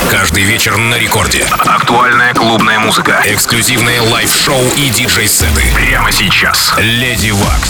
Каждый вечер на рекорде. Актуальная клубная музыка. Эксклюзивные лайв-шоу и диджей-сеты. Прямо сейчас. Леди Вакс.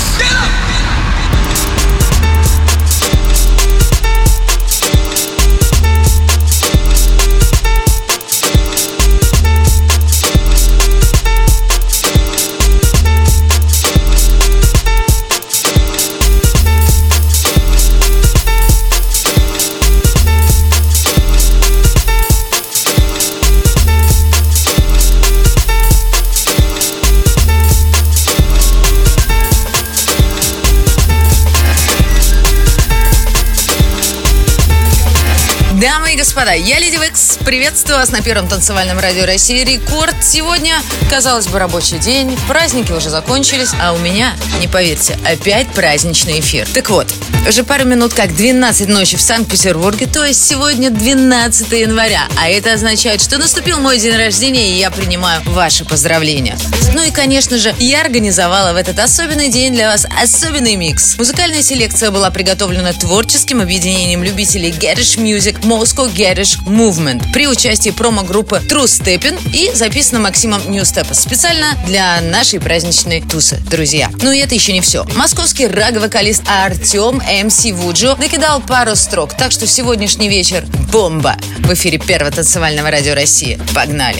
Дамы и господа, я Леди Вакс. Приветствую вас на первом танцевальном радио России «Рекорд». Сегодня, казалось бы, рабочий день, праздники уже закончились, а у меня, не поверьте, опять праздничный эфир. Так вот, уже пару минут как 12 ночи в Санкт-Петербурге, то есть сегодня 12 января, а это означает, что наступил мой день рождения, и я принимаю ваши поздравления. Ну и, конечно же, я организовала в этот особенный день для вас особенный микс. Музыкальная селекция была приготовлена творческим объединением любителей Garage Music Moscow Garage Movement при участии промо-группы True Steppin и записана Максимом Ньюстепа специально для нашей праздничной тусы, друзья. Ну и это еще не все. Московский раг-вокалист Артем МС Вуджо накидал пару строк, так что сегодняшний вечер бомба. В эфире первого танцевального радио России. Погнали!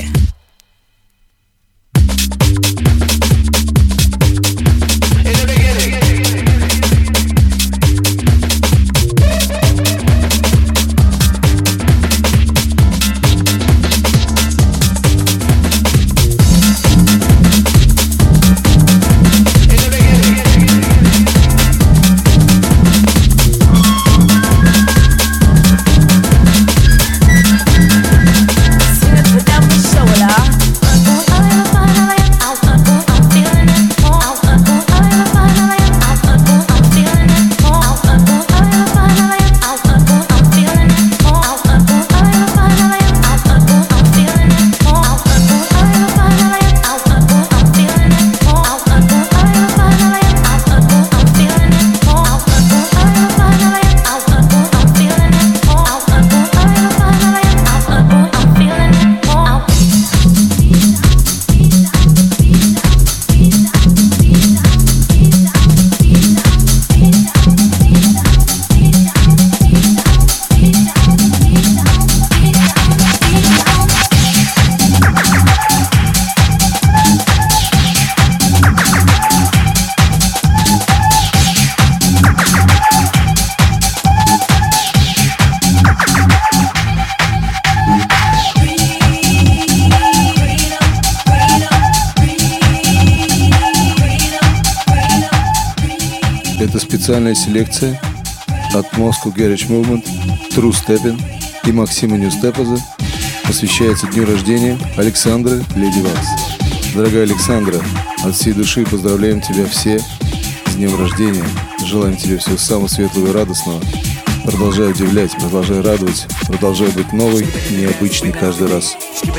Это специальная селекция от Moscow Garage Movement, True Steppin и Максима Ньюстепаза посвящается дню рождения Александры Леди Вакс. Дорогая Александра, от всей души поздравляем тебя все с днем рождения. Желаем тебе всего самого светлого и радостного. Продолжай удивлять, продолжай радовать, продолжай быть новой, необычной каждый раз.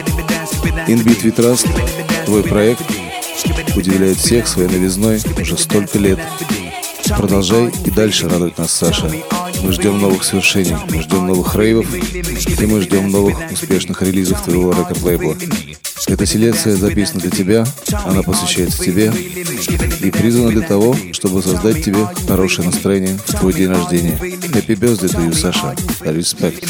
In Beat We Trust, твой проект, удивляет всех своей новизной уже столько лет. Продолжай и дальше радовать нас, Саша. Мы ждем новых свершений, мы ждем новых рейвов, и мы ждем новых успешных релизов твоего рекорд-лейбла. Эта селекция записана для тебя, она посвящается тебе и призвана для того, чтобы создать тебе хорошее настроение в твой день рождения. Happy birthday to you, Саша. Respect.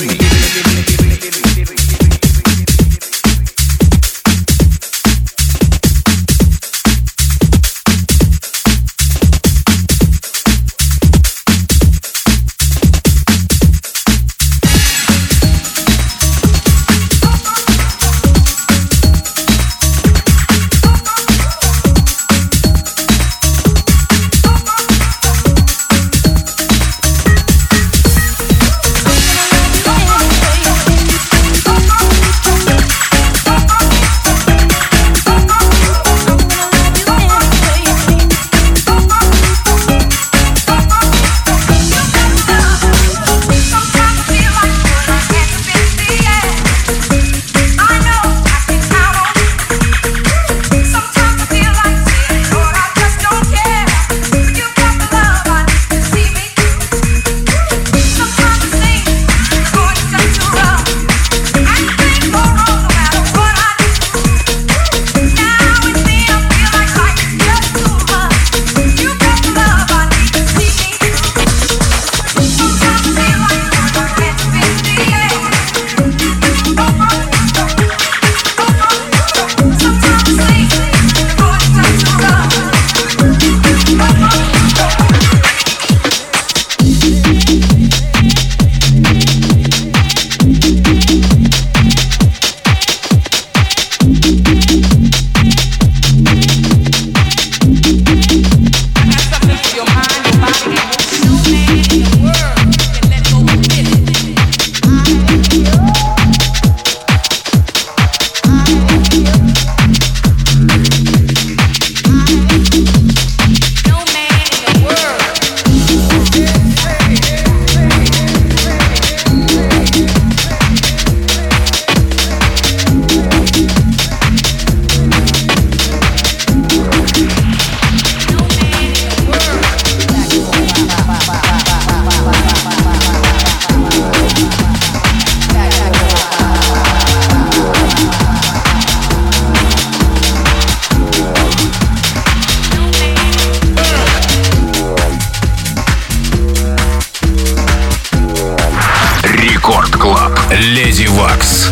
Леди Вакс.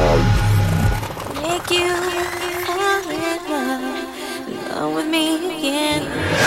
Make you fall in love with me again.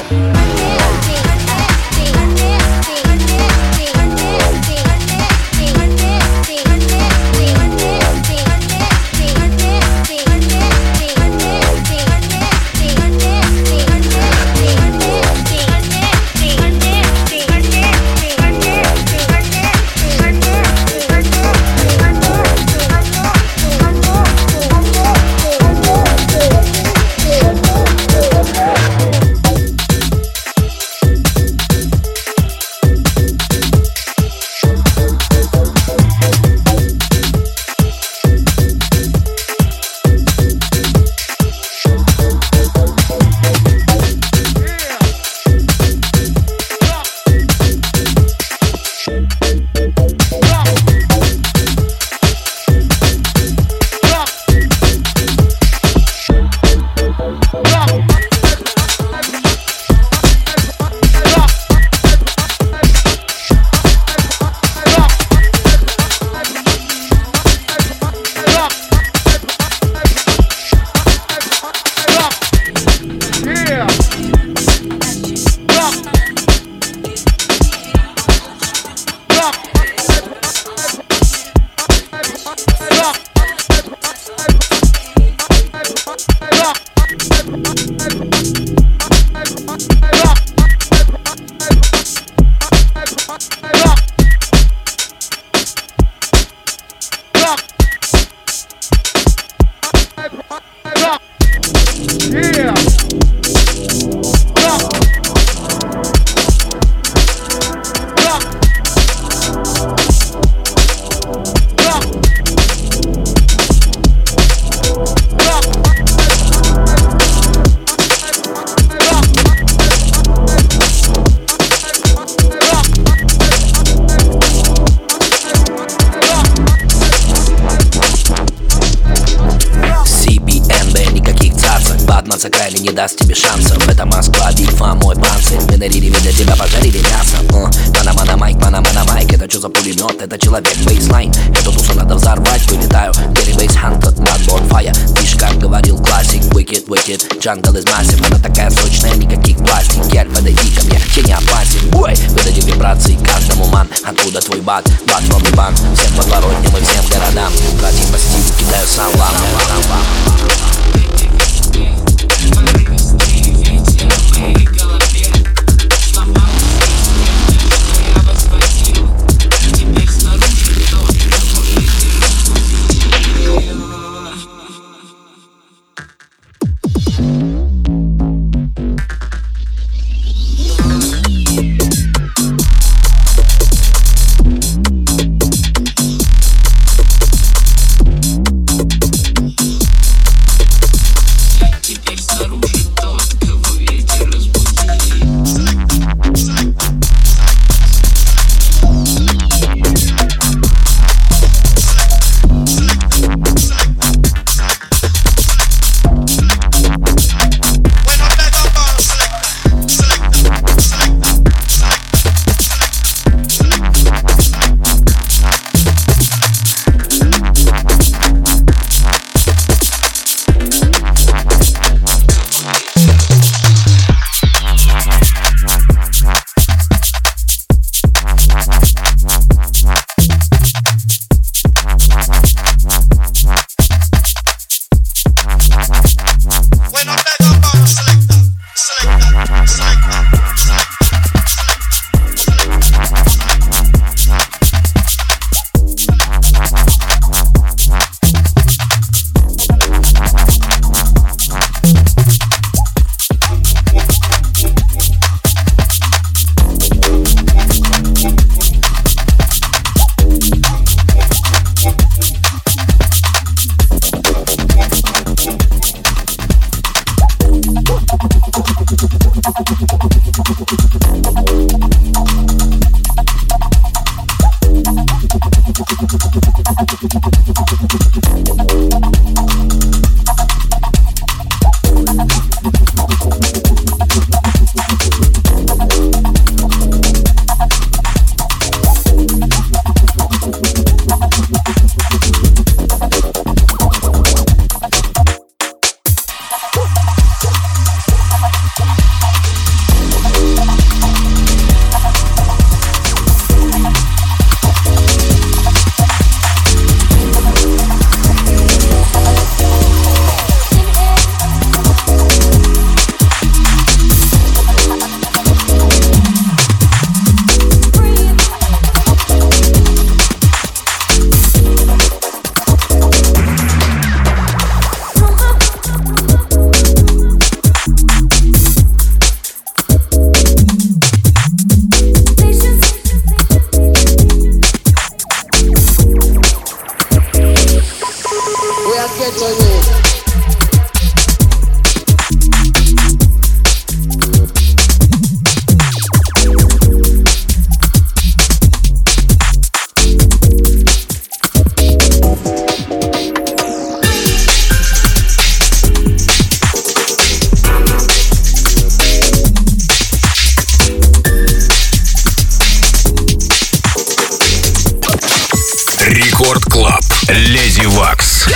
Крайне не даст тебе шансов. Это Москва, битва, мой панцирь. Мы нарили, видя тебя, пожарили мясо. Мана майк, это что за пулемет? Это человек, бейслайн. Эту тусу надо взорвать, вылетаю. Get base hunted, not bonfire. Видишь, как говорил классик, wicked, jungle is massive. Она такая сочная, никаких пластик. Гель, подойди ко мне, я не опасен. Ой, выдадим вибрации каждому ман. Откуда твой бат, from the банк. Всем подворотням и всем городам. Братья по стилю кидаю салам. Рекорд Клаб. Леди Вакс.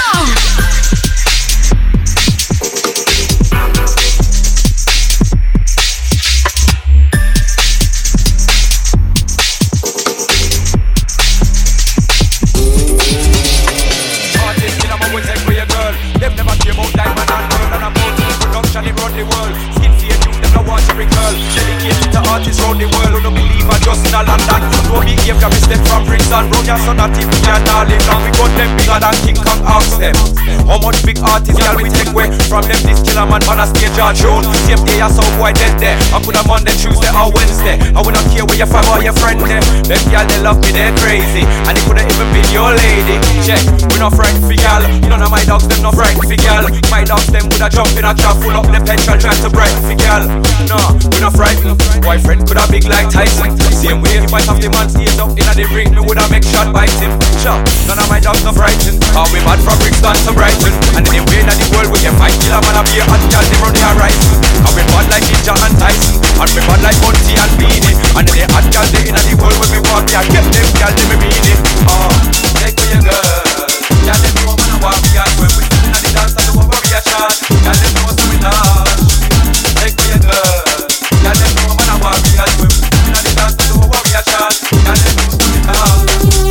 Artists round the world who don't believe I just in a London. Don't behave, can we step from Brixton. Round your son at TV and all live long. We got them bigger than King Kong. Ask them how much big artists y'all we take away from them. This killer man on a stage or tune. Same day I saw boy dead there. I could have Monday, Tuesday or Wednesday. I would not care where your fam or your friend there. Them y'all they love me, they're crazy. And they could've even been your lady. Check, we not frightened for y'all. You know my dogs, them not frightened for y'all. My dogs, them would have jumped in a trap full up the petrol trying to brighten for y'all. No, we not frightened. Boyfriend could have big like Tyson. Same way if I have the man stays up in the ring, me woulda make shot bite him. Sure, none of my dogs not frightened. How we mad from Brixton to Brighton. And in the way that the world we can fight killer man a be a hot girl, they run the horizon. And we bad like Ninja and Tyson. And we bad like Bunty and Beanie. And in the hot girl they in the world when we walk, yeah, get them girl they me mean it. Take for your girl. Yeah, them know man a walk, yeah. When we sit in the dance and the over we a shot. Yeah, them know so we love. Take for your girl. Yeah, them know man a walk, yeah. When we sit in the dance and the over we a shot. Yeah, them know so we love.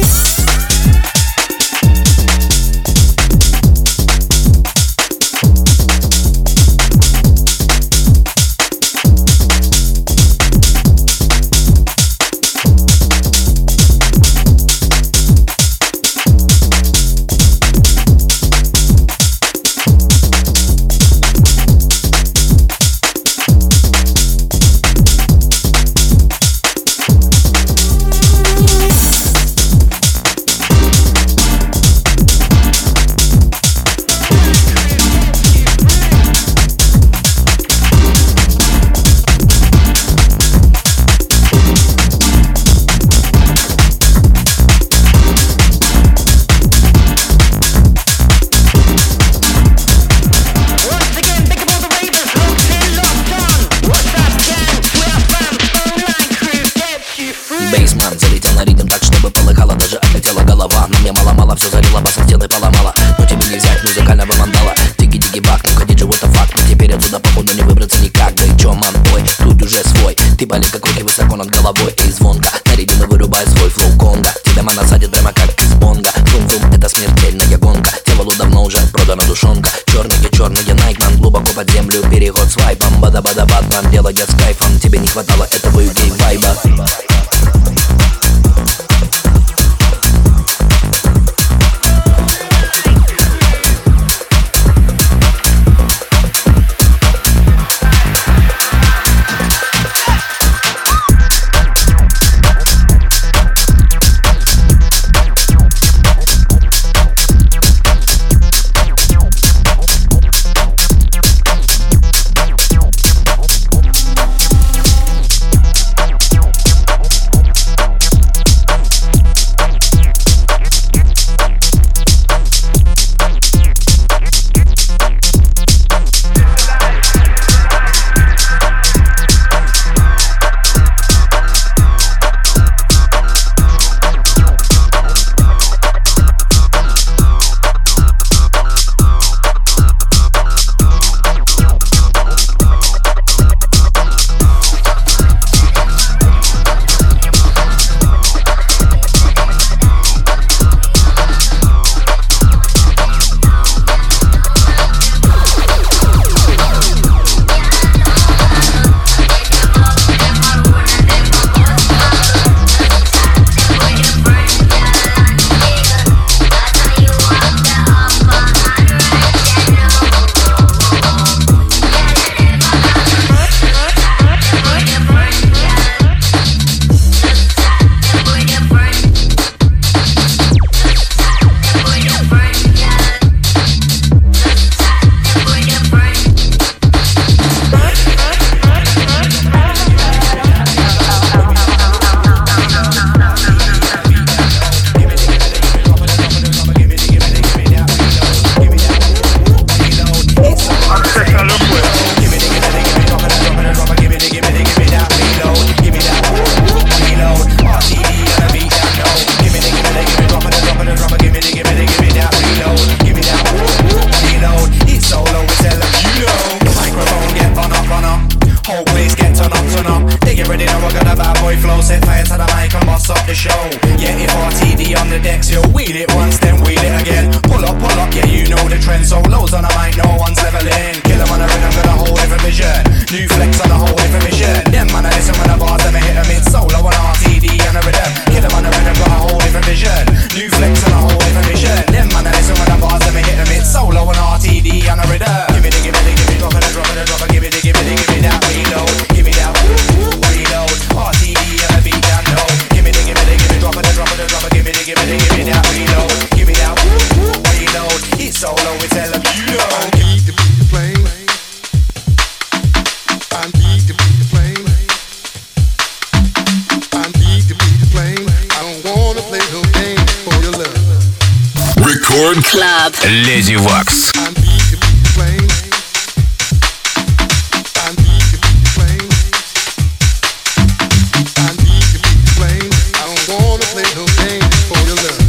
Бейсмен залетел на ритм так, чтобы полыхало, даже отлетела голова. На мне мало-мало, все залило, басом стены поломало. Но тебе не взять музыкального вандала. Тики-тики-бак, ну ходить же вот факт. Но теперь отсюда походу не выбраться никак. Да и чё, мам, твой, тут уже свой. Ты полет как руки высоко над головой. Эй, звонко, на ритм и вырубай свой флоу Конга. Тебя мана садит прямо как из бонга. Шум-шум, это смертельная гонка. Телу давно уже продана душонка. Черные Найкман, глубоко под землю, переход с вайпом. Бада-бада-батман, дело идет с кайфом. Тебе не хватало этого UK-вайба. trend. Solos on a mic, no one's leveling. Kill 'em on a rhythm, got a whole different vision. New flex on a whole different mission. Them man I listen when I bars, let me hit 'em. It's solo on RTD and a rhythm. Kill 'em on a rhythm, got a whole different vision. New flex on a whole different mission. Them man I listen when I bars, let me hit 'em. It's solo on RTD and a rhythm. Give me the, give me the, give me drop it, drop it, drop it. Give me the, give me the, give me that reload. Give me that reload. RTD and a beat down low. Give me the, give me the, give me drop it, drop it, drop it. Give me the, give me the, give me that reload. Give me that reload. It's solo, it's hell of you know. I need to beat the flame. I need to beat the flame. I need to beat the flame. I don't wanna play no game for your love. Record Club. Леди Вакс. I need to beat the flame. I need to beat the flame. I need to beat the flame. I don't wanna play no game for your love.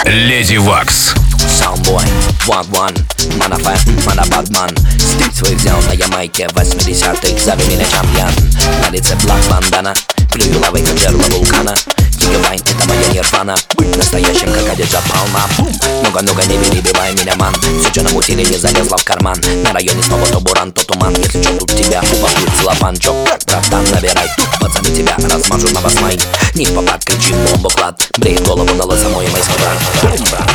Леди Вакс. Soundboy, one, манафэ, манабадман. Стиль свой взял на Ямайке 80-х, зови меня чемпион. На лице блак бандана, плюю лавой, как жерло вулкана. Гигавайн, это моя нирвана. Быть настоящим, как Адиджа Палма. Много-много, не перебивай меня, ман. Все, что намутили, не залезла в карман. На районе снова то буран, то туман. Если что, тут тебя упакует целлофан. Чё, братан, набирай. Тут пацаны тебя размажут на басмай. Не в попад, кричит бомбоклад. Бреет голову на лосомой мой брат.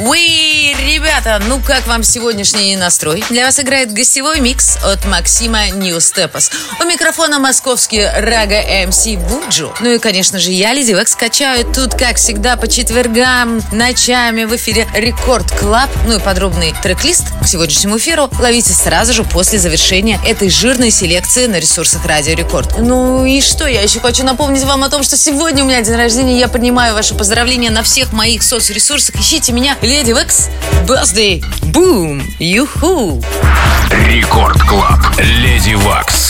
Уи, ребята, ну как вам сегодняшний настрой? Для вас играет гостевой микс от Максима Ньюстепас. У микрофона московский Рага МС Буджу. Ну и, конечно же, я, Леди Векс, качаю тут, как всегда, по четвергам, ночами в эфире Рекорд Клаб. Ну и подробный трек-лист к сегодняшнему эфиру ловите сразу же после завершения этой жирной селекции на ресурсах Радио Рекорд. Ну и что, я еще хочу напомнить вам о том, что сегодня у меня день рождения, я принимаю ваши поздравления на всех моих соцресурсах. Ищите меня, Леди Векс, Birthday, Boom, Юху. Рекорд Клаб. Леди Вакс.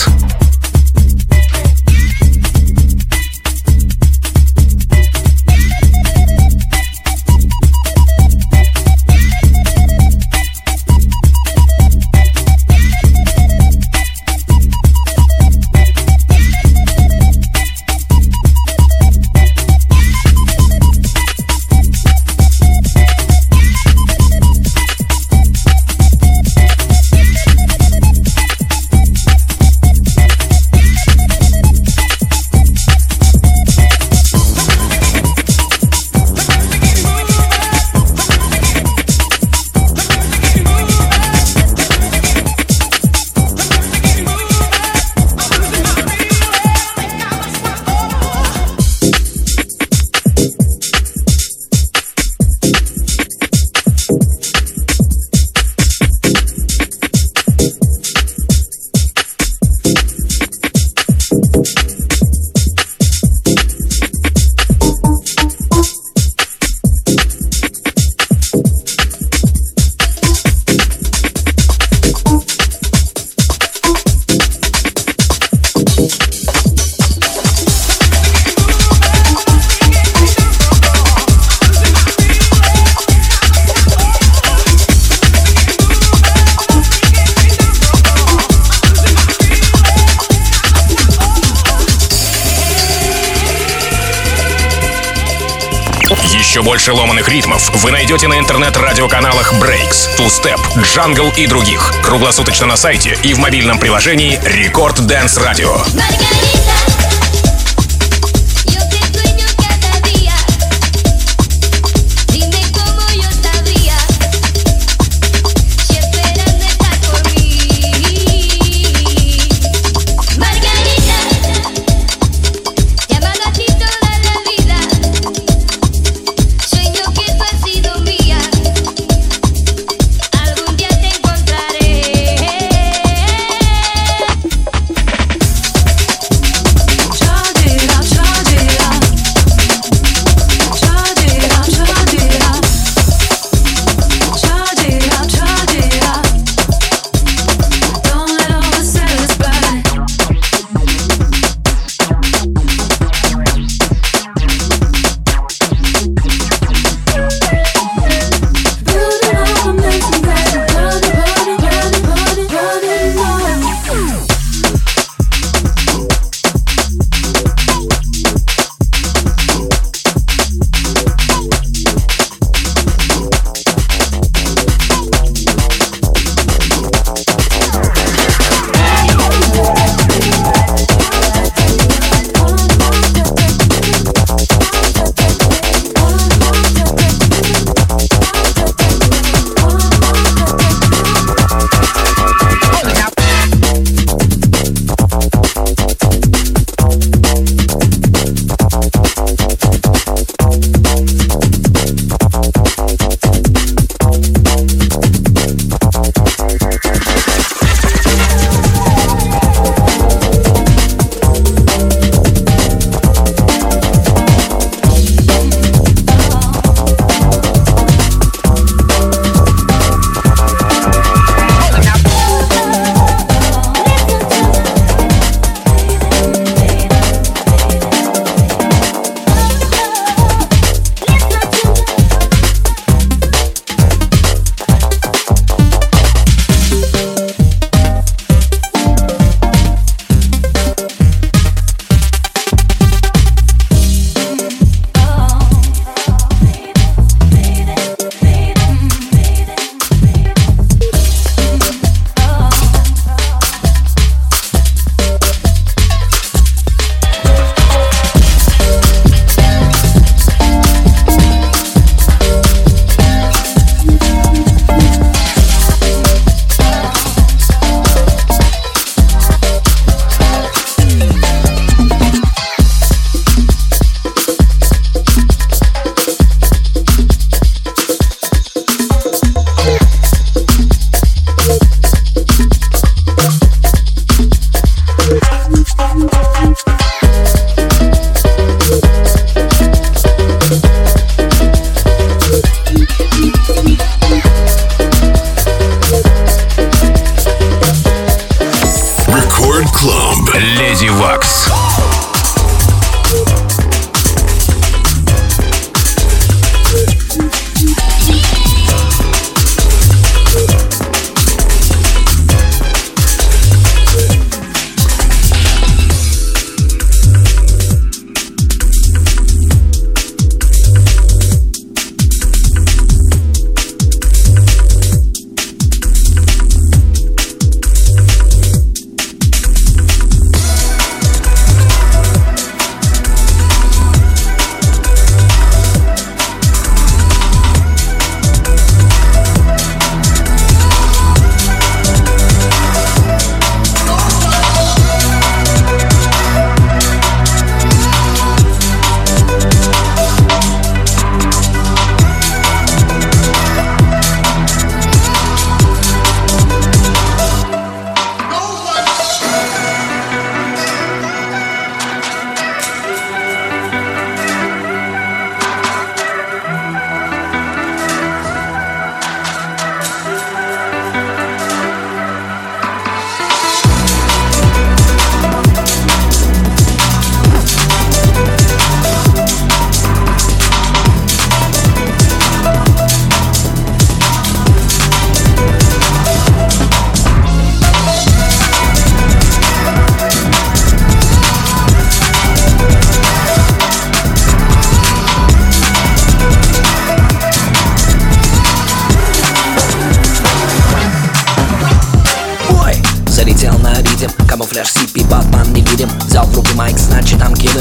Еще больше ломаных ритмов вы найдете на интернет-радиоканалах Breaks, Two Step, Jungle и других. Круглосуточно на сайте и в мобильном приложении Record Dance Radio.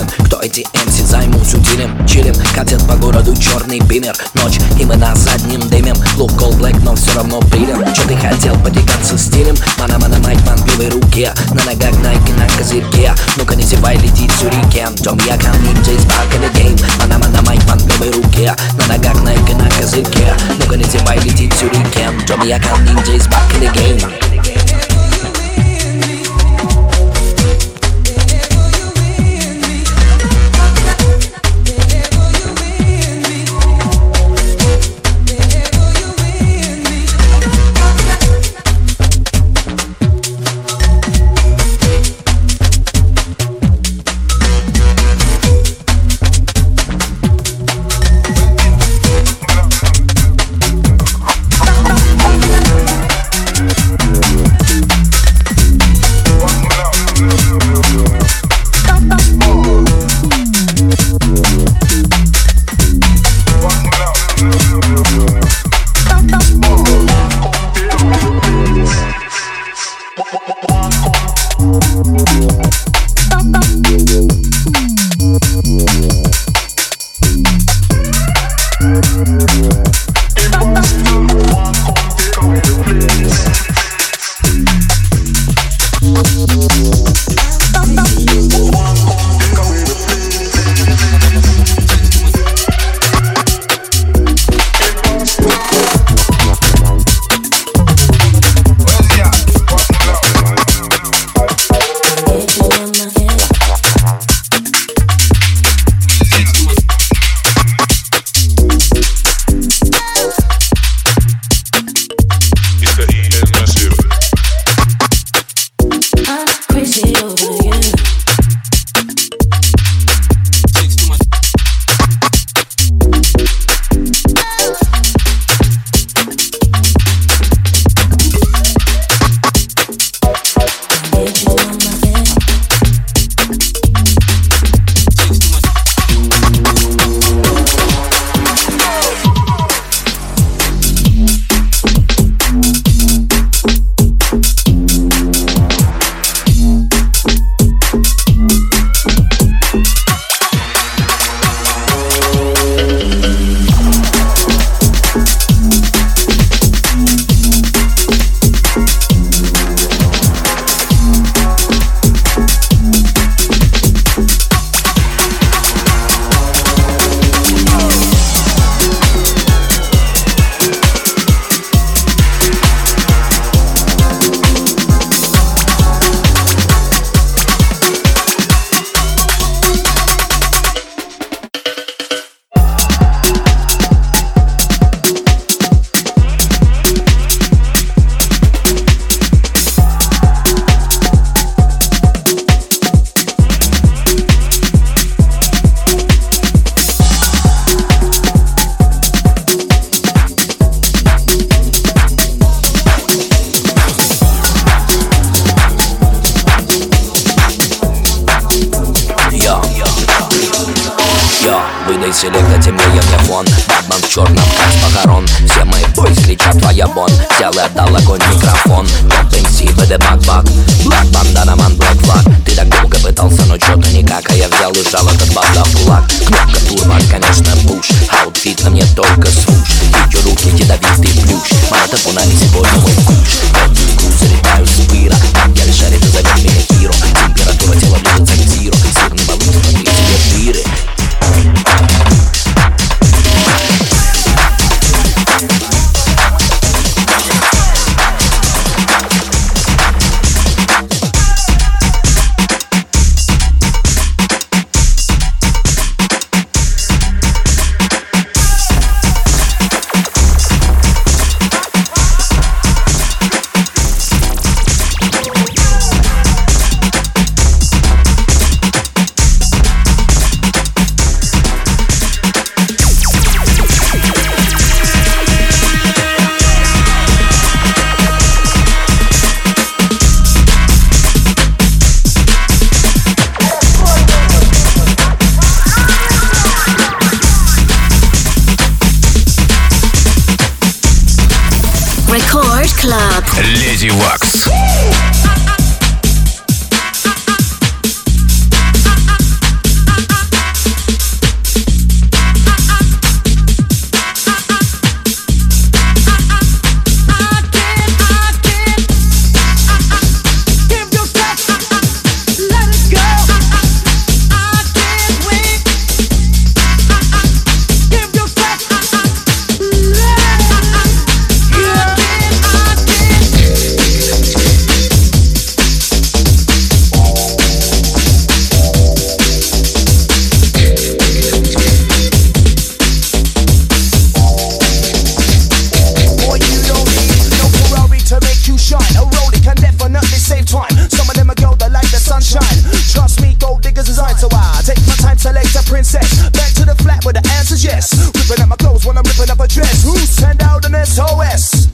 Чилим, кто эти MC, займусь утилим. Чилим, катит по городу черный бимер. Ночь, и мы на заднем дымем. Look cold black, но все равно пилим. Че ты хотел, потягаться стилем? Мана, майк, ман, в левой руке. На ногах Nike, на козырьке. Ну-ка не зевай, летит сюрикен. Дом я кам, ninjas back in the game. Мана, майк, ман, в левой руке. На ногах Nike, на козырьке. Ну-ка не зевай, летит сюрикен. Дом я кам, ninjas back in the game. Селекта темнее мне фон. Бэтмен в черном, как с похорон. Все мои бойс кричат твоя бон. Взял и отдал огонь микрофон. Топ-МС, БД-бак-бак. Блэк бандана, ман, блэк флаг. Ты так долго пытался, но чё-то никак. А я взял и сжал этот база в кулак. Кнопка турбо, конечно, пуш. Аутфит на мне только свуш. Видео руки, ядовитый плющ. Мата пунами сегодня мой куш. Крутую залетаю с пыра. Я лишь шарит и зовет меня Хиро. Температура тела близится к зиро. Сырный баллон, смотри тебе дыры. Леди Вакс. the flat where the answer's yes. Ripping up my clothes when I'm ripping up a dress. Who send out an SOS?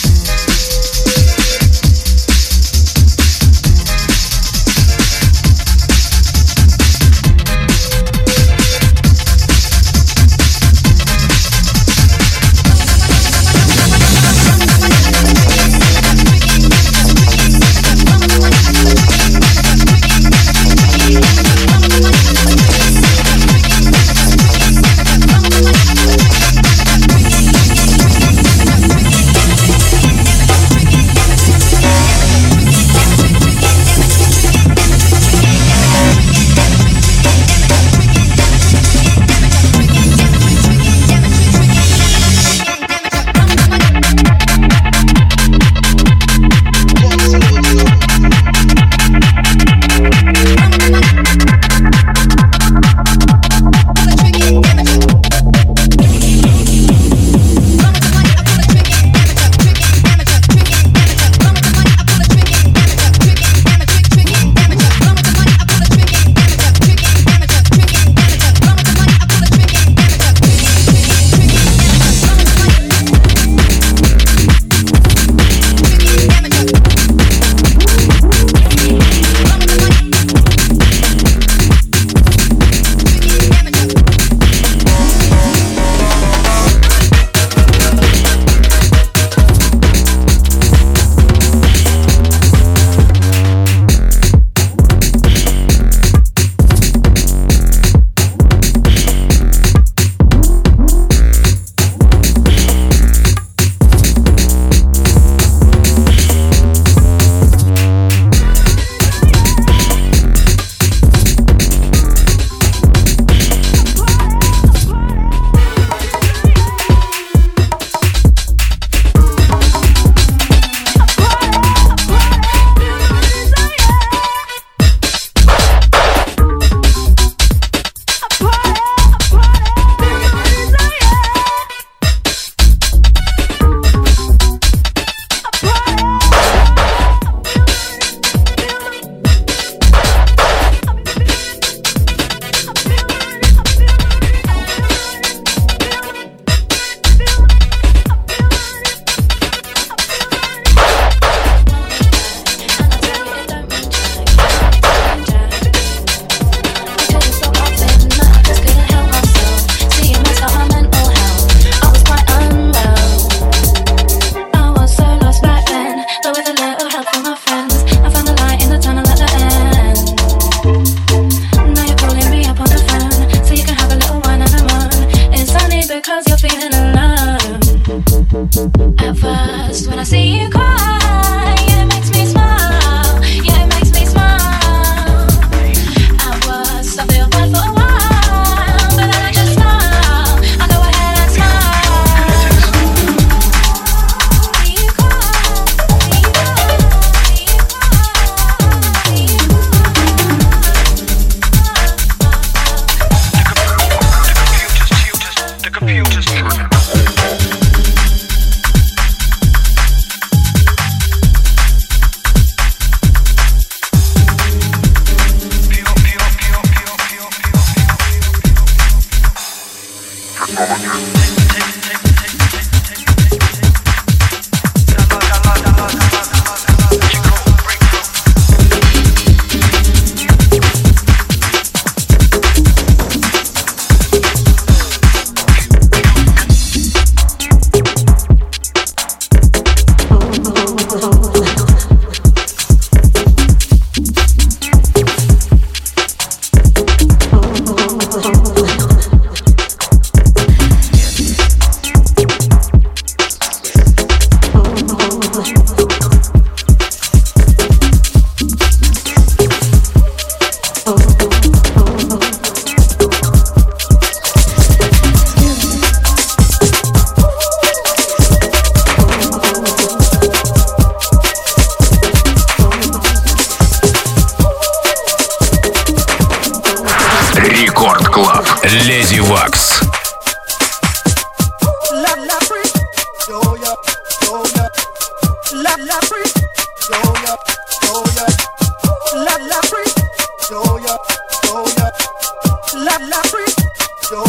Леди Вакс. Yo,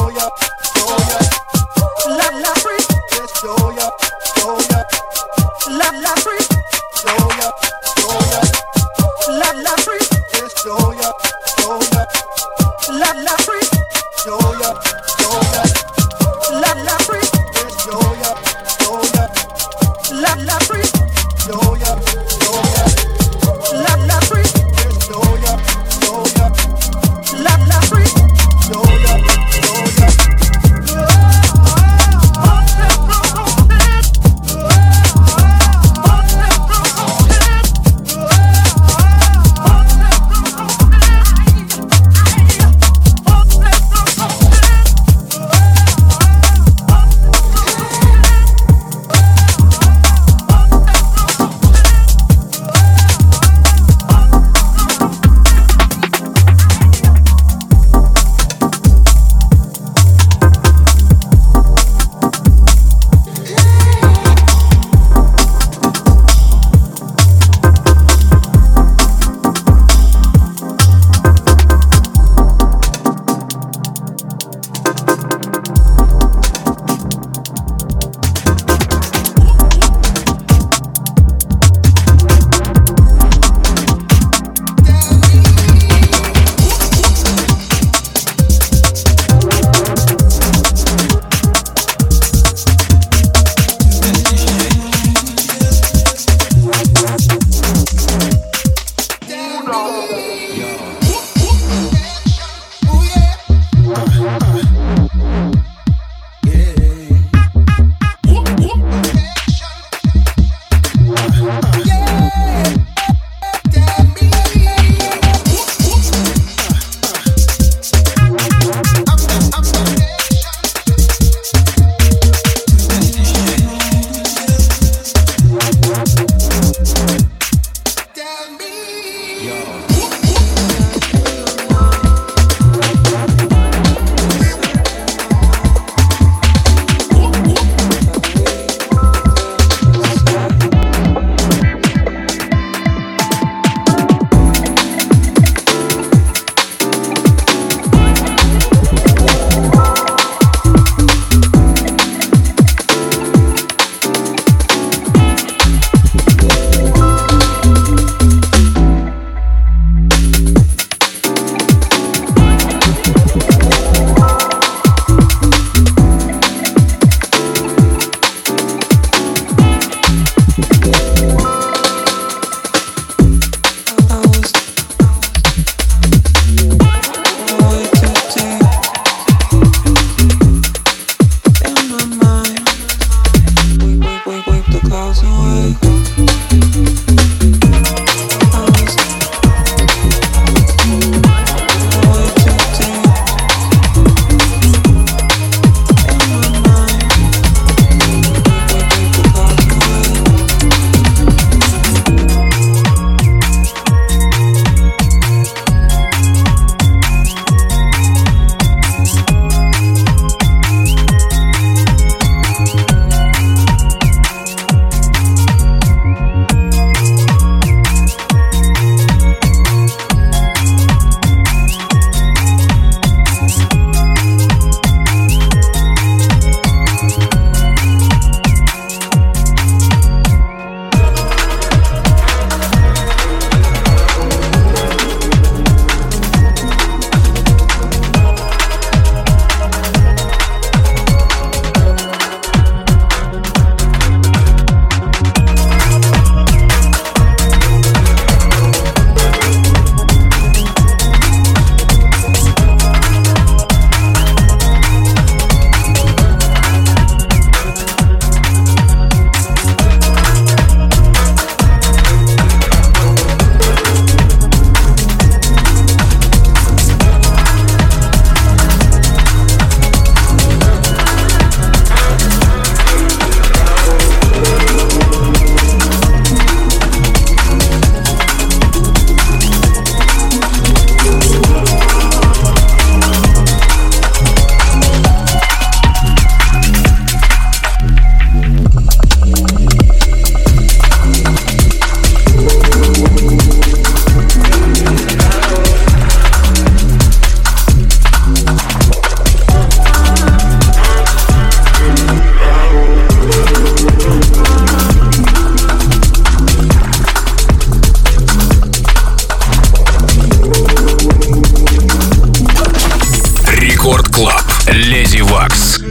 Вакс.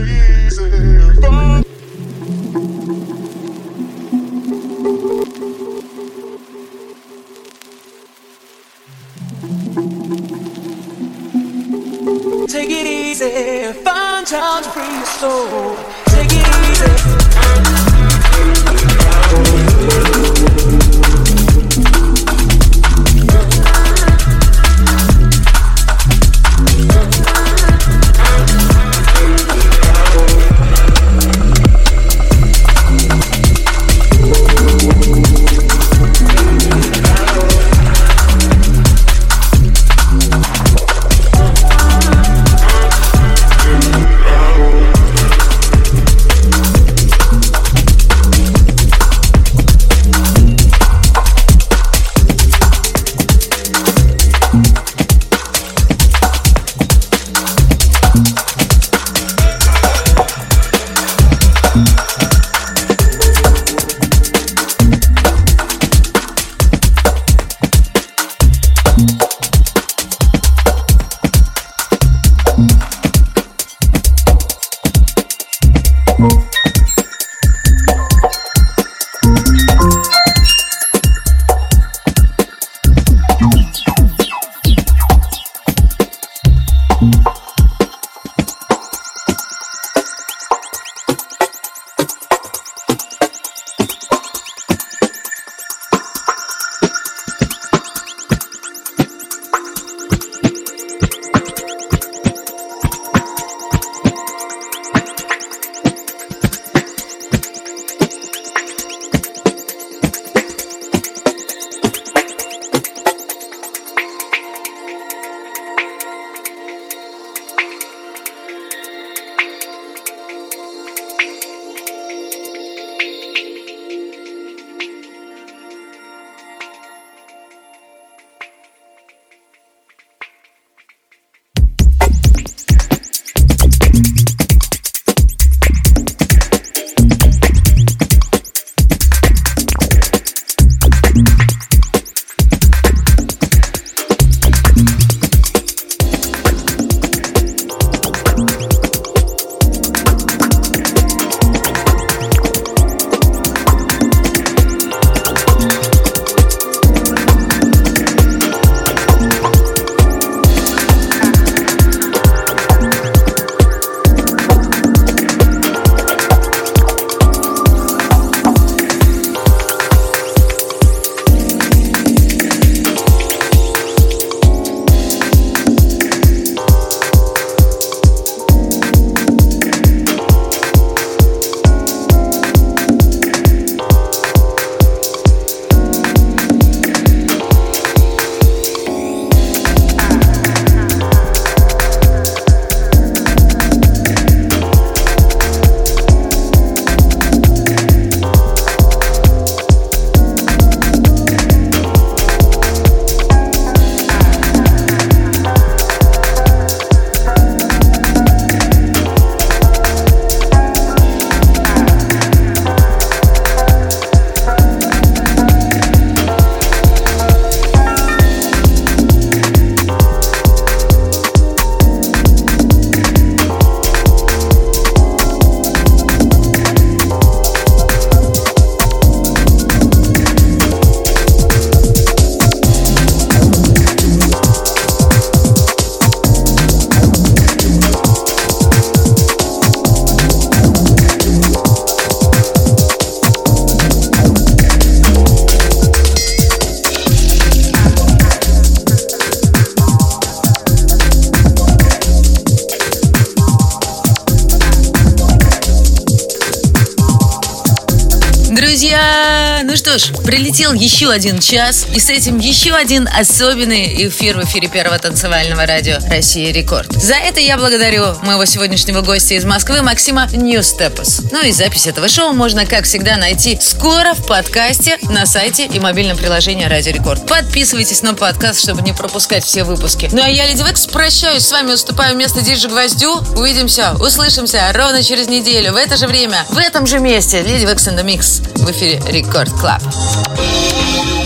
Take it easy, find time to free your soul. Take it easy. Друзья, ну что ж, прилетел еще один час, и с этим еще один особенный эфир в эфире первого танцевального радио «Россия Рекорд». За это я благодарю моего сегодняшнего гостя из Москвы Максима New Steppers. Ну и запись этого шоу можно, как всегда, найти скоро в подкасте на сайте и мобильном приложении «Радио Рекорд». Подписывайтесь на подкаст, чтобы не пропускать все выпуски. Ну а я, Леди Векс, прощаюсь с вами, уступаю место диджей Гвоздю. Увидимся, услышимся ровно через неделю в это же время, в этом же месте. Леди Векс in the Mix в эфире Рекорд Клаб.